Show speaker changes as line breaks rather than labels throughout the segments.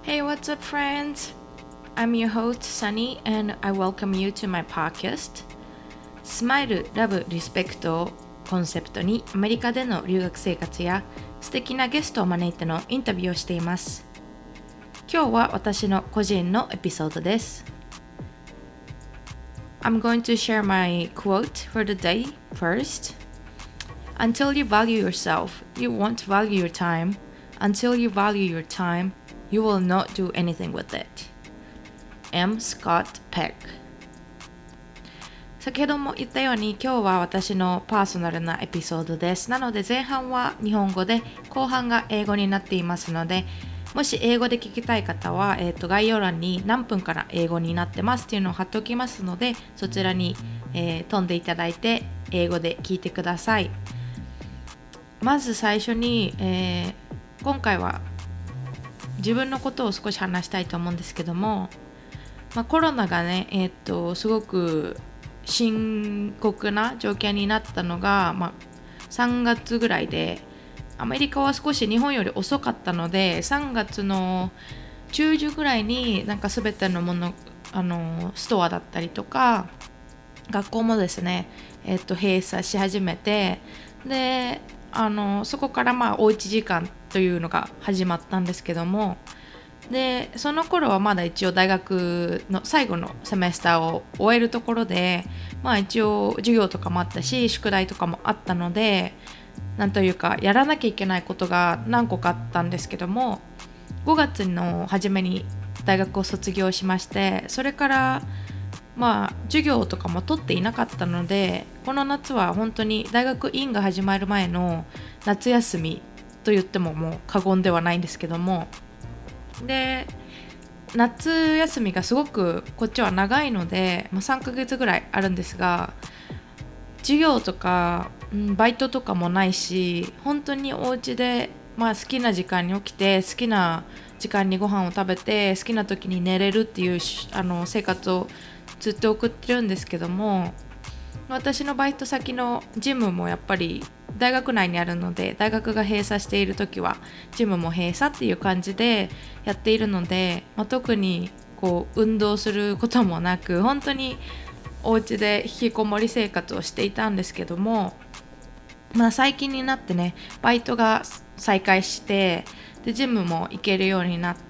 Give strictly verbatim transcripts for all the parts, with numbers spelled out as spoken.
Hey, what's up, friends? I'm your host, Sunny, and I welcome you to my podcast. スマイル、ラブ、リスペクトをコンセプトにアメリカでの留学生活や素敵なゲストを招いてのインタビューをしています。今日は私の個人のエピソードです。I'm going to share my quote for the day first. Until you value yourself, you won't value your time. Until you value your time, you will not do anything with it. M. Scott Peck。 先ほども言ったように今日は私のパーソナルなエピソードです。なので前半は日本語で後半が英語になっていますので、もし英語で聞きたい方は、えーと、概要欄に何分から英語になってますっていうのを貼っておきますので、そちらに、えー、飛んでいただいて英語で聞いてください。まず最初に、えー、今回は自分のことを少し話したいと思うんですけども、まあ、コロナがね、えーと、すごく深刻な状況になったのが、まあ、さんがつぐらいで、アメリカは少し日本より遅かったのでさんがつの中旬ぐらいになんか全てのもの、あのストアだったりとか学校もですね、えっと、閉鎖し始めて、であのそこからまあおうち時間というのが始まったんですけども、でその頃はまだ一応大学の最後のセメスターを終えるところで、まあ一応授業とかもあったし宿題とかもあったので、なんというかやらなきゃいけないことが何個かあったんですけども、ごがつの初めに大学を卒業しまして、それからまあ授業とかも取っていなかったので、この夏は本当に大学院が始まる前の夏休みと言ってももう過言ではないんですけども、で夏休みがすごくこっちは長いので、まあ、さんかげつぐらいあるんですが、授業とか、うん、バイトとかもないし、本当にお家で、まあ、好きな時間に起きて好きな時間にご飯を食べて好きな時に寝れるっていうあの生活をずっと送ってるんですけども、私のバイト先のジムもやっぱり大学内にあるので、大学が閉鎖している時はジムも閉鎖っていう感じでやっているので、まあ、特にこう運動することもなく本当にお家で引きこもり生活をしていたんですけども、まあ、最近になってねバイトが再開して、でジムも行けるようになって、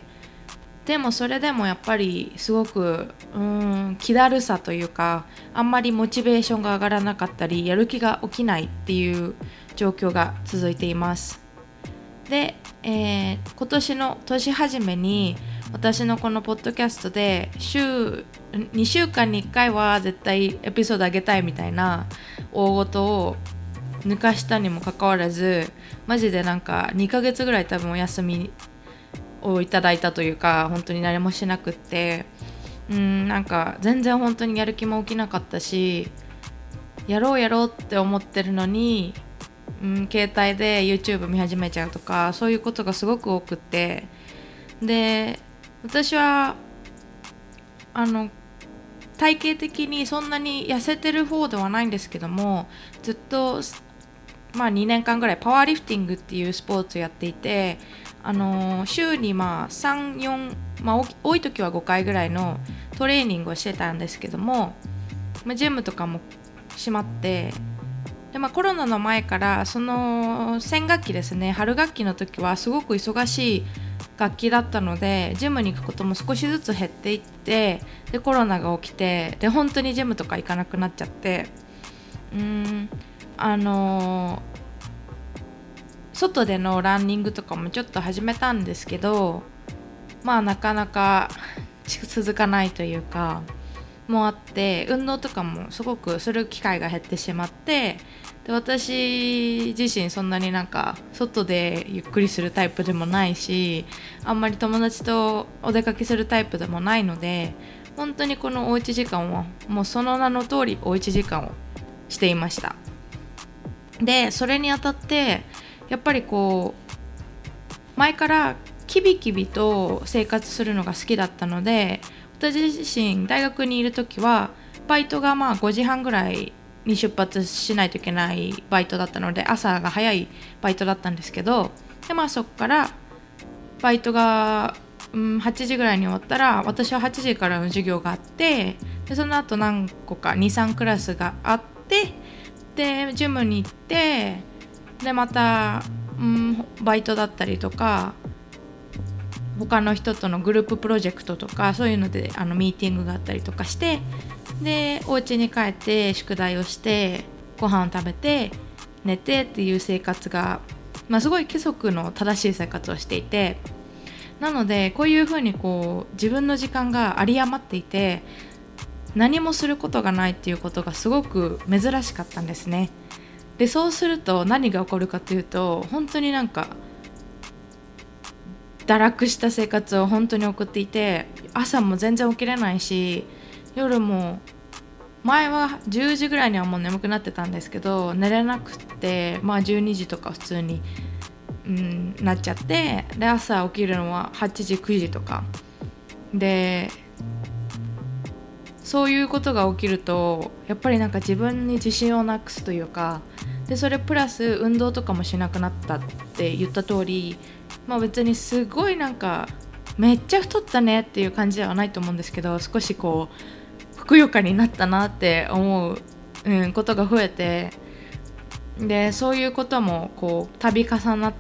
でもそれでもやっぱりすごくうーん気だるさというか、あんまりモチベーションが上がらなかったりやる気が起きないっていう状況が続いています。で、えー、今年の年始めに私のこのポッドキャストで週にしゅうかんにいっかいは絶対エピソード上げたいみたいな大事を抜かしたにもかかわらず、マジでなんかにかげつぐらい多分お休みをいただいたというか、本当に何もしなくって、うーんなんか全然本当にやる気も起きなかったし、やろうやろうって思ってるのに、うん、携帯で YouTube 見始めちゃうとか、そういうことがすごく多くって、で私はあの体型的にそんなに痩せてる方ではないんですけども、ずっと、まあ、にねんかんぐらいパワーリフティングっていうスポーツをやっていて、あの週にまあさん、よん、まあ、多い時はごかいぐらいのトレーニングをしてたんですけども、まあ、ジムとかも閉まって、で、まあ、コロナの前からその先学期ですね、春学期の時はすごく忙しい楽器だったので、ジムに行くことも少しずつ減っていって、でコロナが起きて、で本当にジムとか行かなくなっちゃって、うーんあのー、外でのランニングとかもちょっと始めたんですけど、まあなかなか続かないというかもあって、運動とかもすごくする機会が減ってしまって、で私自身そんなになんか外でゆっくりするタイプでもないし、あんまり友達とお出かけするタイプでもないので、本当にこのおうち時間はもうその名の通りおうち時間をしていました。でそれにあたってやっぱりこう前からキビキビと生活するのが好きだったので、私自身大学にいる時はバイトがまあごじはんぐらいに出発しないといけないバイトだったので、朝が早いバイトだったんですけど、でまあそこからバイトがうん、はちじぐらいに終わったら、私ははちじからの授業があって、でその後何個か に,さん クラスがあって、でジムに行って、でまた、うん、バイトだったりとか他の人とのグループプロジェクトとかそういうのであのミーティングがあったりとかして、でお家に帰って宿題をしてご飯を食べて寝てっていう生活が、まあ、すごい規則の正しい生活をしていて、なのでこういうふうにこう自分の時間が有り余っていて何もすることがないっていうことがすごく珍しかったんですね。でそうすると何が起こるかというと、本当になんか堕落した生活を本当に送っていて、朝も全然起きれないし、夜も前はじゅうじぐらいにはもう眠くなってたんですけど、寝れなくって、まあじゅうにじとか普通に、うん、なっちゃって、で朝起きるのははちじくじとかで、そういうことが起きるとやっぱりなんか自分に自信をなくすというか、でそれプラス運動とかもしなくなったって言った通り、まあ別にすごいなんかめっちゃ太ったねっていう感じではないと思うんですけど、少しこうふくよかになったなって思う、うん、ことが増えて、でそういうこともこう度重なって、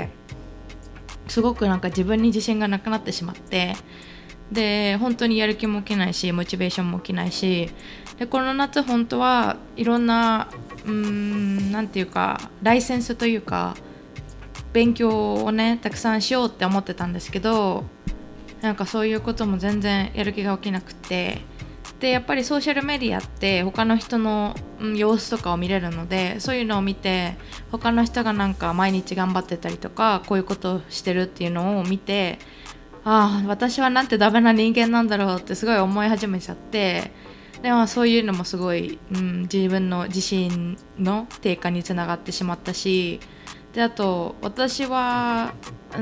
すごくなんか自分に自信がなくなってしまって、で本当にやる気も起きないしモチベーションも起きないし、でこの夏本当はいろんなうーんなんていうかライセンスというか勉強をねたくさんしようって思ってたんですけど、なんかそういうことも全然やる気が起きなくて、でやっぱりソーシャルメディアって他の人の、うん、様子とかを見れるので、そういうのを見て他の人がなんか毎日頑張ってたりとかこういうことをしてるっていうのを見て、ああ私はなんてダメな人間なんだろうってすごい思い始めちゃって、でもそういうのもすごい、うん、自分の自信の低下につながってしまったし、であと私は、うん、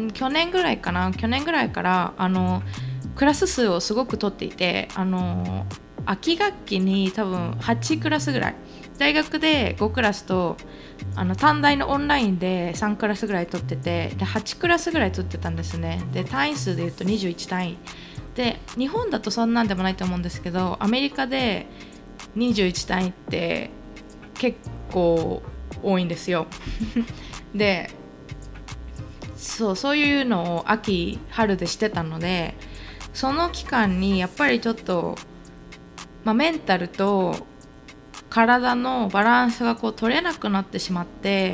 去年ぐらいかな去年ぐらいからあのクラス数をすごく取っていて、あの秋学期に多分はちクラスぐらい、大学でごクラスとあの短大のオンラインでさんクラスぐらい取ってて、ではちクラスぐらい取ってたんですね。で単位数でいうとにじゅういち単位で、日本だとそんなんでもないと思うんですけど、アメリカでにじゅういち単位って結構多いんですよでそうそういうのを秋春でしてたので、その期間にやっぱりちょっと、まあ、メンタルと体のバランスがこう取れなくなってしまって、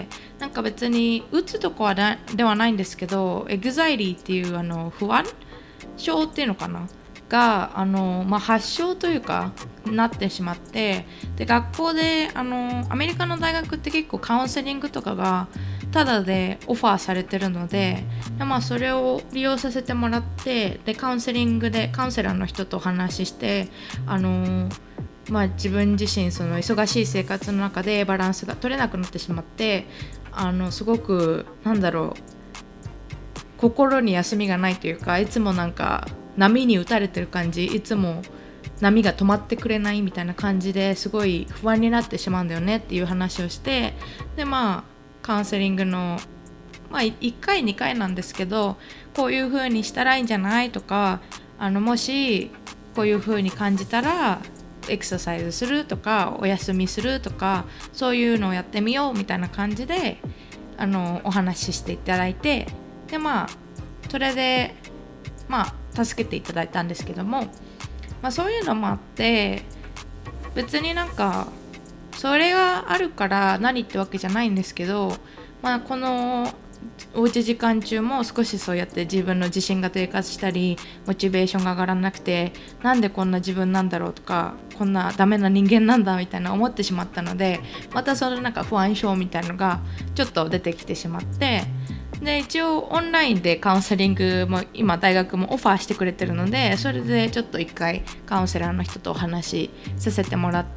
なんか別にうつとかはなではないんですけど、エグザイリーっていうあの不安症っていうのかながあの、まあ、発症というかなってしまって、で学校であのアメリカの大学って結構カウンセリングとかがタダでオファーされてるので、で、まあ、それを利用させてもらって、でカウンセリングでカウンセラーの人とお話しして、あのまあ、自分自身その忙しい生活の中でバランスが取れなくなってしまって、あのすごくなんだろう心に休みがないというか、いつもなんか波に打たれてる感じ、いつも波が止まってくれないみたいな感じですごい不安になってしまうんだよねっていう話をして、でまあカウンセリングの、まあ、いっかいにかいなんですけど、こういう風にしたらいいんじゃないとか、あのもしこういう風に感じたらエクササイズするとかお休みするとか、そういうのをやってみようみたいな感じであのお話ししていただいて、でまあそれでまあ助けていただいたんですけども、まあ、そういうのもあって別になんかそれがあるから何ってわけじゃないんですけど、まあ、このおうち時間中も少しそうやって自分の自信が低下したりモチベーションが上がらなくて、なんでこんな自分なんだろうとかこんなダメな人間なんだみたいな思ってしまったので、またそのなんか不安症みたいなのがちょっと出てきてしまって、で一応オンラインでカウンセリングも今大学もオファーしてくれてるので、それでちょっと一回カウンセラーの人とお話しさせてもらって、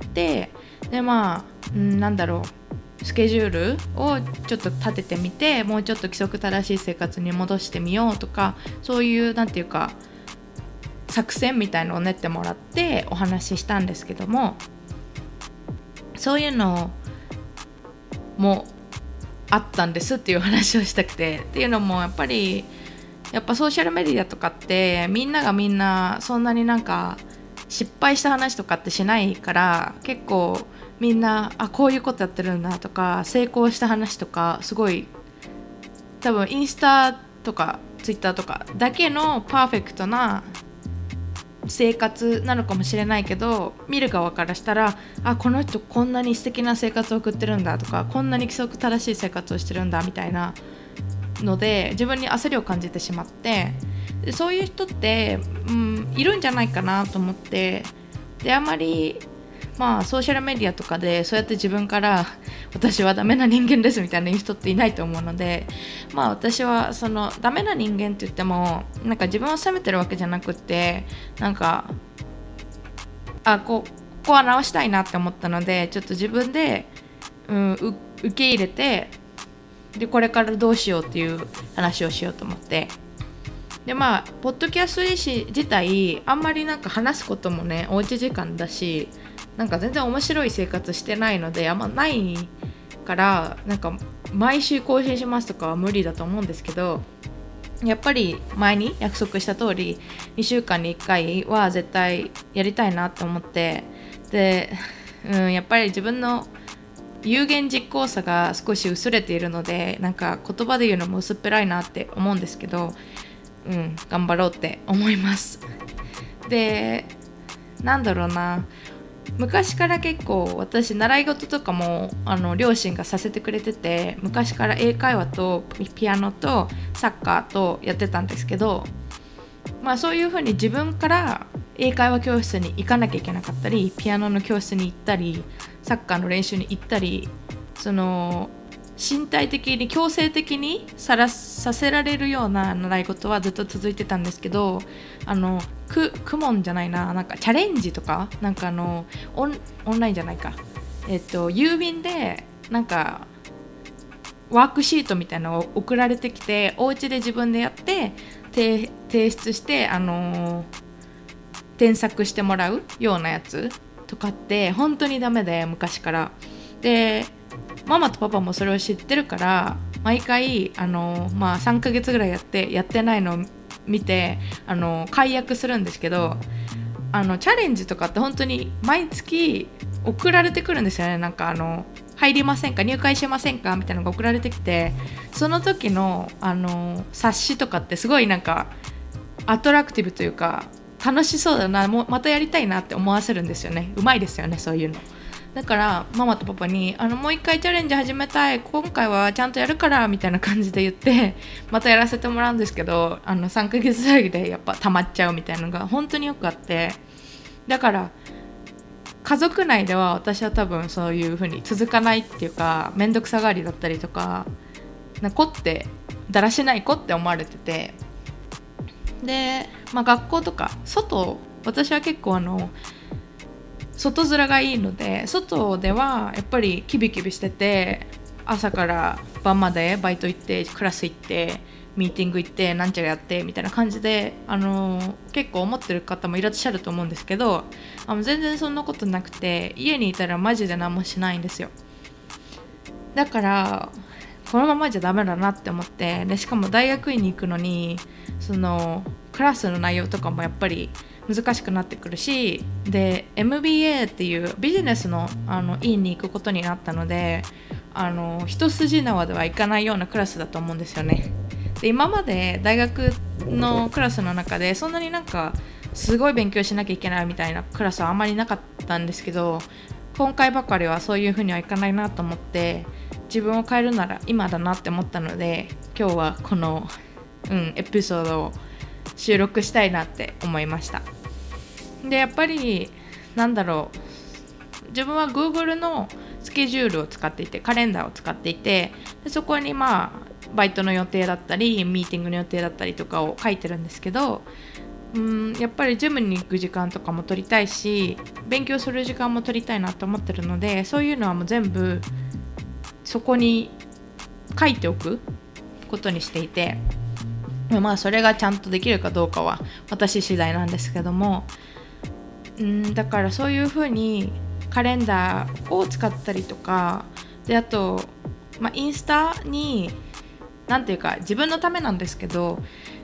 でまあんなんだろうスケジュールをちょっと立ててみて、もうちょっと規則正しい生活に戻してみようとか、そういうなんていうか作戦みたいのを練ってもらってお話ししたんですけども、そういうのもあったんですっていう話をしたくて、っていうのもやっぱりやっぱソーシャルメディアとかってみんながみんなそんなになんか失敗した話とかってしないから、結構みんなあこういうことやってるんだとか成功した話とかすごい多分インスタとかツイッターとかだけのパーフェクトな生活なのかもしれないけど、見る側からしたらあこの人こんなに素敵な生活を送ってるんだとかこんなに規則正しい生活をしてるんだみたいなので自分に焦りを感じてしまって、でそういう人って、うん、いるんじゃないかなと思って、であんまりまあソーシャルメディアとかでそうやって自分から私はダメな人間ですみたいな言う人っていないと思うので、まあ私はそのダメな人間って言ってもなんか自分を責めてるわけじゃなくって、なんかあこここは直したいなって思ったのでちょっと自分で、うん、受け入れて、でこれからどうしようっていう話をしようと思って、でまあポッドキャスト自体あんまりなんか話すこともねおうち時間だし、なんか全然面白い生活してないのであんまないから、なんか毎週更新しますとかは無理だと思うんですけど、やっぱり前に約束した通りにしゅうかんにいっかいは絶対やりたいなと思って、で、うん、やっぱり自分の有言実行さが少し薄れているので、なんか言葉で言うのも薄っぺらいなって思うんですけど、うん、頑張ろうって思います。で、なんだろうな、昔から結構私習い事とかもあの両親がさせてくれてて、昔から英会話とピアノとサッカーとやってたんですけど、まあそういう風に自分から英会話教室に行かなきゃいけなかったり、ピアノの教室に行ったり、サッカーの練習に行ったり、その身体的に強制的にさらさせられるような習い事はずっと続いてたんですけど、あのククモンじゃないな、なんかチャレンジとかなんかあのオン、オンラインじゃないか、えっと郵便でなんかワークシートみたいなのを送られてきて、お家で自分でやって提出してあの添削してもらうようなやつとかって本当にダメで、昔からでママとパパもそれを知ってるから毎回あの、まあ、さんかげつぐらいやってやってないのを見てあの解約するんですけど、あのチャレンジとかって本当に毎月送られてくるんですよね。なんかあの入りませんか、入会しませんかみたいなのが送られてきて、その時のあの冊子とかってすごいなんかアトラクティブというか楽しそうだな、もうまたやりたいなって思わせるんですよね。うまいですよね、そういうの。だからママとパパにあのもう一回チャレンジ始めたい、今回はちゃんとやるからみたいな感じで言ってまたやらせてもらうんですけど、あのさんかげつぐらいでやっぱ溜まっちゃうみたいなのが本当によくあって、だから家族内では私は多分そういう風に続かないっていうか、めんどくさがりだったりとか、な子ってだらしない子って思われてて、で、まあ、学校とか外、私は結構あの外面がいいので、外ではやっぱりキビキビしてて、朝から晩までバイト行ってクラス行ってミーティング行ってなんちゃらやってみたいな感じで、あのー、結構思ってる方もいらっしゃると思うんですけど、あの全然そんなことなくて、家にいたらマジで何もしないんですよ。だからこのままじゃダメだなって思って、でしかも大学院に行くのにそのクラスの内容とかもやっぱり難しくなってくるし、で エムビーエー っていうビジネスの、あの院に行くことになったので、あの一筋縄ではいかないようなクラスだと思うんですよね。で今まで大学のクラスの中でそんなになんかすごい勉強しなきゃいけないみたいなクラスはあんまりなかったんですけど、今回ばかりはそういう風にはいかないなと思って、自分を変えるなら今だなって思ったので、今日はこの、うん、エピソードを収録したいなって思いました。でやっぱりなんだろう、自分は Google のスケジュールを使っていて、カレンダーを使っていて、でそこにまあバイトの予定だったりミーティングの予定だったりとかを書いてるんですけど、うーんやっぱりジムに行く時間とかも取りたいし、勉強する時間も取りたいなと思ってるので、そういうのはもう全部そこに書いておくことにしていて、まあそれがちゃんとできるかどうかは私次第なんですけども、うんだからそういう風にカレンダーを使ったりとかで、あと、まあ、インスタになんていうか自分のためなんですけど、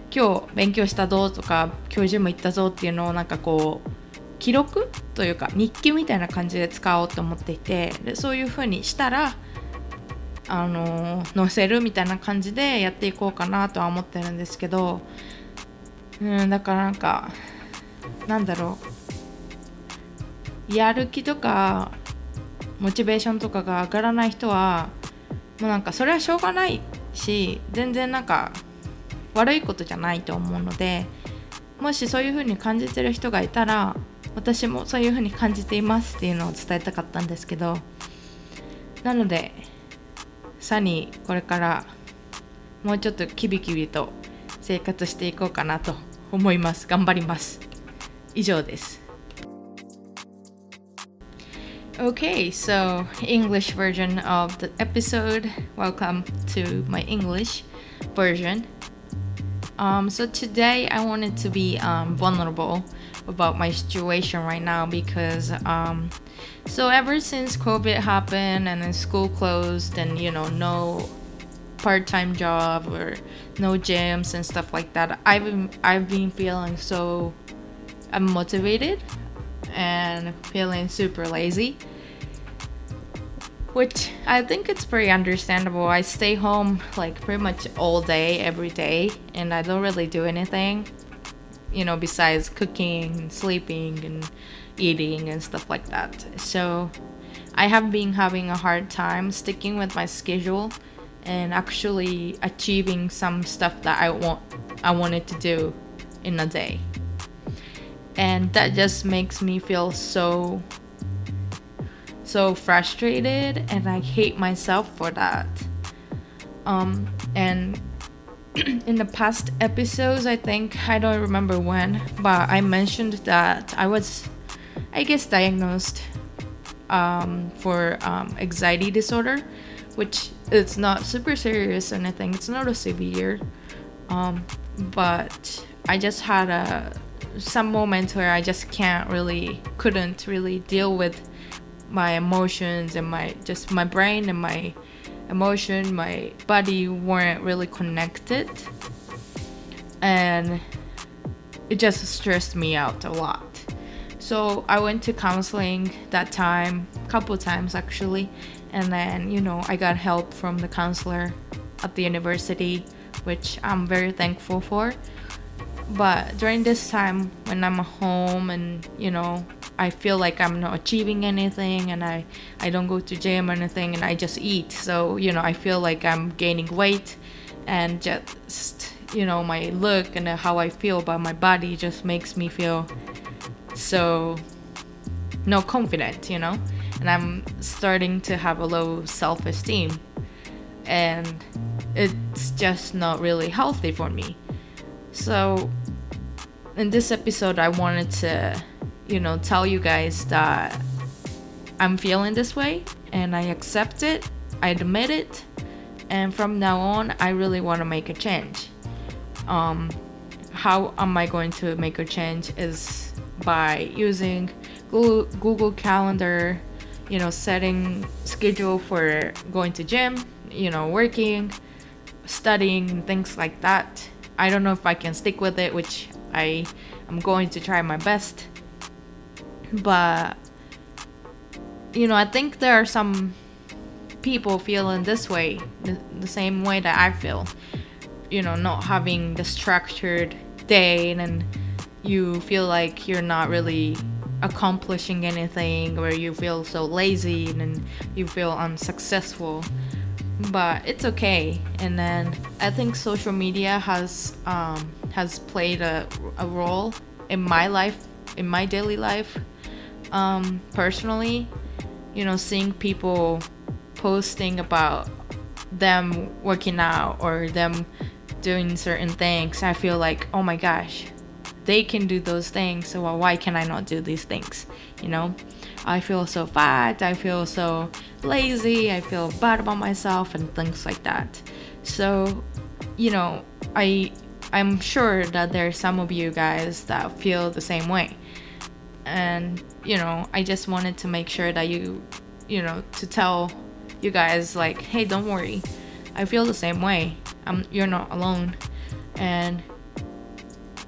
今日勉強したぞとか今日ジム行ったぞっていうのをなんかこう記録というか日記みたいな感じで使おうと思っていて、でそういう風にしたらあの載せるみたいな感じでやっていこうかなとは思ってるんですけど、うんだからなんかなんだろう、やる気とかモチベーションとかが上がらない人はもうなんかそれはしょうがないし、全然なんか悪いことじゃないと思うので、もしそういう風に感じてる人がいたら私もそういう風に感じていますっていうのを伝えたかったんですけど、なのでさにこれからもうちょっとキビキビと生活していこうかなと思います。頑張ります。以上です。 Okay, so English version of the episode. Welcome to my English version. Um, so today I wanted to be um, vulnerable about my situation right now because um, so ever since COVID happened and then school closed and you know no part-time job or no gyms and stuff like that, I've been I've been feeling so unmotivated and feeling super lazy, which I think it's pretty understandable. I stay home like pretty much all day, every day, and I don't really do anything, you know, besides cooking and sleeping and eating and stuff like that. So I have been having a hard time sticking with my schedule and actually achieving some stuff that I want I wanted to do in a day. And that just makes me feel so so frustrated, and I hate myself for that. Um, and in the past episodes, I think, I don't remember when, but I mentioned that I was, I guess, diagnosed um, for um, anxiety disorder, which it's not super serious or anything. It's not a severe, um, but I just had a some moments where I just can't really, couldn't really deal with my emotions, and my just my brain and my emotion, my body weren't really connected, and it just stressed me out a lot. So I went to counseling that time, couple times actually, and then you know I got help from the counselor at the university, which I'm very thankful for. But during this time when I'm home and you know I feel like I'm not achieving anything, and I, I don't go to gym or anything, and I just eat. So, you know, I feel like I'm gaining weight, and just, you know, my look and how I feel about my body just makes me feel so no confident, you know? And I'm starting to have a low self-esteem, and it's just not really healthy for me. So in this episode, I wanted to you know, tell you guys that I'm feeling this way and I accept it, I admit it, and from now on, I really want to make a change. Um, how am I going to make a change is by using Google, Google Calendar, you know, setting schedule for going to gym, you know, working, studying, and things like that. I don't know if I can stick with it, which I am going to try my best. But you know, I think there are some people feeling this way, the, the same way that I feel, you know, not having the structured day, and you feel like you're not really accomplishing anything, or you feel so lazy and you feel unsuccessful. But it's okay. And then I think social media has um, has played a, a role in my life, in my daily life. Um, personally, you know, seeing people posting about them working out or them doing certain things, I feel like, oh my gosh, they can do those things, so why can I not do these things? You know, I feel so fat, I feel so lazy, I feel bad about myself and things like that. So, you know, I I'm sure that there are some of you guys that feel the same way. And you know, I just wanted to make sure that you you know to tell you guys, like, hey, don't worry, I feel the same way. I'm you're not alone. And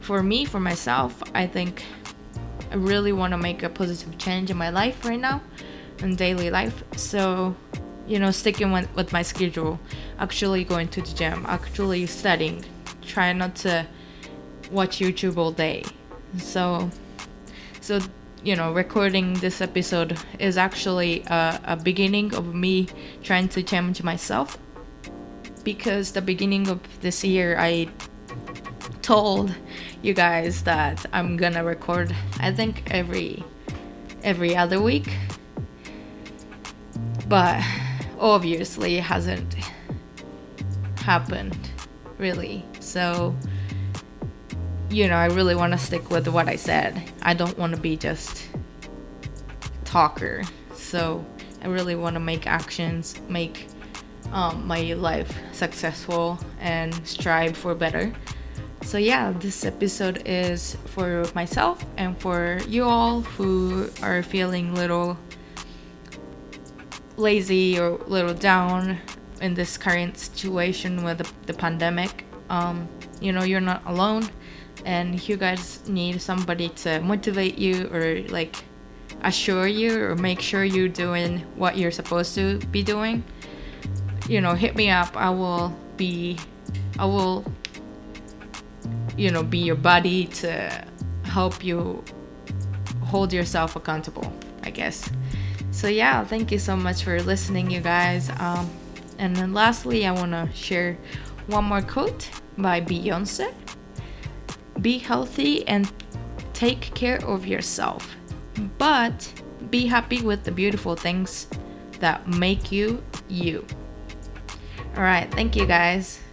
for me, for myself, I think I really want to make a positive change in my life right now, in daily life. So, you know, sticking with, with my schedule, actually going to the gym, actually studying, try not to watch YouTube all day. So, so you know, recording this episode is actually a, a beginning of me trying to change myself, because the beginning of this year I told you guys that I'm gonna record, I think every every other week, but obviously it hasn't happened really. So, you know, I really want to stick with what I said. I don't want to be just talker. So I really want to make actions, make um, my life successful, and strive for better. So yeah, this episode is for myself and for you all who are feeling little lazy or little down in this current situation with the, the pandemic. Um, you know, you're not alone. And you guys need somebody to motivate you, or like assure you, or make sure you're doing what you're supposed to be doing. You know, hit me up. I will be, I will, you know, be your buddy to help you hold yourself accountable, I guess. So yeah, thank you so much for listening, you guys. Um, and then lastly, I want to share one more quote by Beyonce. Be healthy and take care of yourself, but be happy with the beautiful things that make you you. All right, thank you guys.